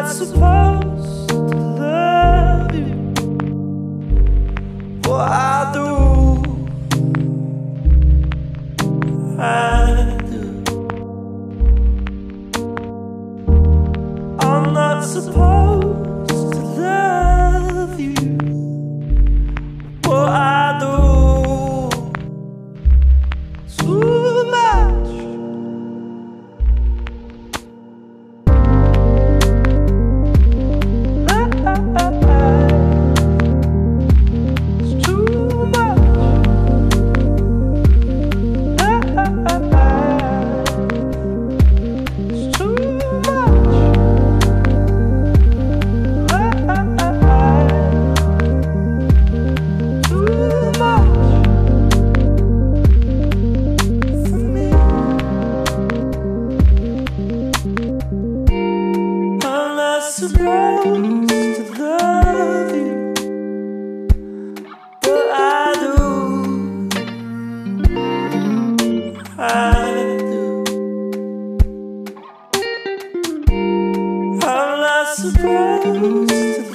not supposed to love you. Well, I do. I do. I'm not supposed to love you. Well, I do. Too much. It's too much. It's too much. Too much for me. I'm not supposed to love you, but I do. I do. I'm not supposed to